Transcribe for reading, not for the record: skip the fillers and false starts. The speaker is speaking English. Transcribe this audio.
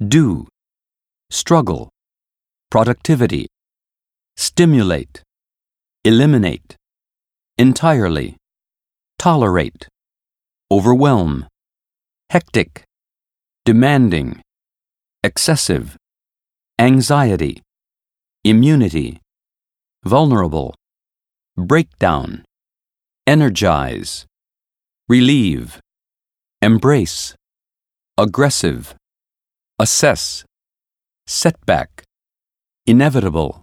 do, struggle, productivity, stimulate, eliminate, entirely, tolerate, overwhelm, hectic, demanding, excessive, anxiety, immunity, vulnerable, breakdown, energize, relieve, embrace, aggressive, assess, setback, inevitable,